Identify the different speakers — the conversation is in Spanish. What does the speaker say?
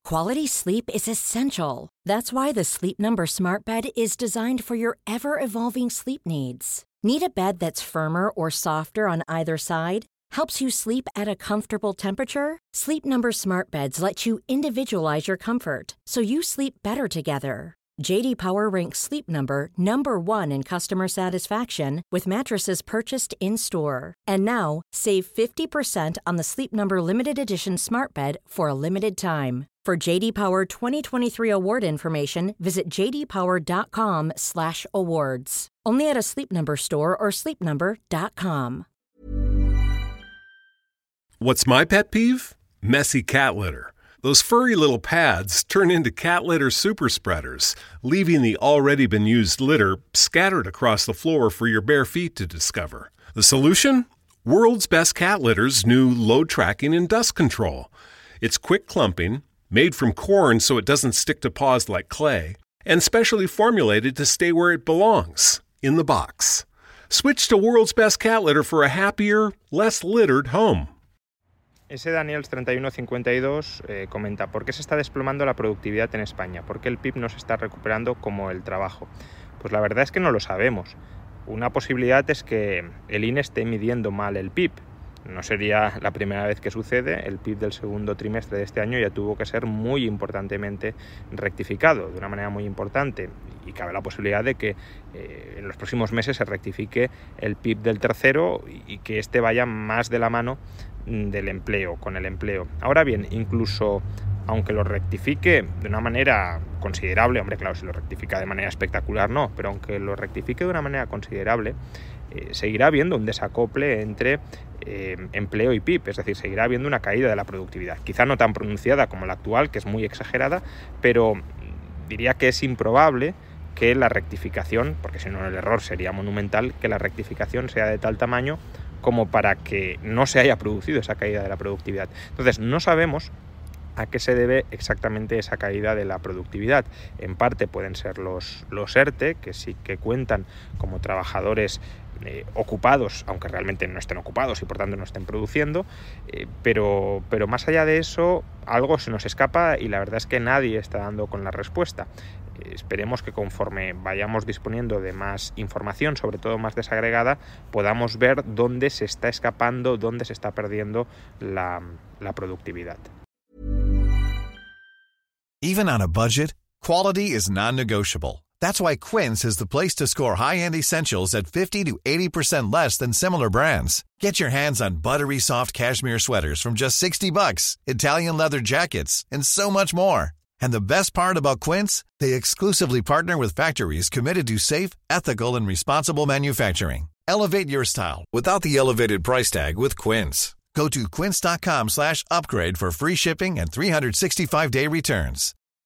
Speaker 1: Quality sleep is essential. That's why the Sleep Number Smart Bed is designed for your ever-evolving sleep needs. Need a bed that's firmer or softer on either side? Helps you sleep at a comfortable temperature? Sleep Number Smart Beds let you individualize your comfort, so you sleep better together. J.D. Power ranks Sleep Number number 1 in customer satisfaction with mattresses purchased in-store. And now, save 50% on the Sleep Number Limited Edition Smart Bed for a limited time. For J.D. Power 2023 award information, visit jdpower.com/awards. Only at a Sleep Number store or sleepnumber.com.
Speaker 2: What's my pet peeve? Messy cat litter. Those furry little pads turn into cat litter super spreaders, leaving the already been used litter scattered across the floor for your bare feet to discover. The solution? World's Best Cat Litter's new load tracking and dust control. It's quick clumping, made from corn so it doesn't stick to paws like clay, and specially formulated to stay where it belongs, in the box. Switch to World's Best Cat Litter for a happier, less littered home.
Speaker 3: Ese Daniels3152 comenta: ¿por qué se está desplomando la productividad en España? ¿Por qué el PIB no se está recuperando como el trabajo? Pues la verdad es que no lo sabemos. Una posibilidad es que el INE esté midiendo mal el PIB. No sería la primera vez que sucede. El PIB del segundo trimestre de este año ya tuvo que ser muy importantemente rectificado, de una manera muy importante. Y cabe la posibilidad de que en los próximos meses se rectifique el PIB del tercero y que este vaya más de la mano del empleo, con el empleo. Ahora bien, incluso aunque lo rectifique de una manera considerable, hombre, claro, si lo rectifica de manera espectacular no, pero aunque lo rectifique de una manera considerable, seguirá habiendo un desacople entre empleo y PIB, es decir, seguirá habiendo una caída de la productividad, quizá no tan pronunciada como la actual, que es muy exagerada, pero diría que es improbable que la rectificación, porque si no el error sería monumental, que la rectificación sea de tal tamaño como para que no se haya producido esa caída de la productividad. Entonces, no sabemos a qué se debe exactamente esa caída de la productividad. En parte pueden ser los ERTE, que sí que cuentan como trabajadores ocupados, aunque realmente no estén ocupados y por tanto no estén produciendo, pero más allá de eso, algo se nos escapa y la verdad es que nadie está dando con la respuesta. Esperemos que conforme vayamos disponiendo de más información, sobre todo más desagregada, podamos ver dónde se está escapando, dónde se está perdiendo la productividad.
Speaker 4: Even on a budget, quality is non-negotiable. That's why Quince is the place to score high-end essentials at 50 to 80% less than similar brands. Get your hands on buttery soft cashmere sweaters from just $60, Italian leather jackets, and so much more. And the best part about Quince, they exclusively partner with factories committed to safe, ethical, and responsible manufacturing. Elevate your style without the elevated price tag with Quince. Go to quince.com/upgrade for free shipping and 365-day returns.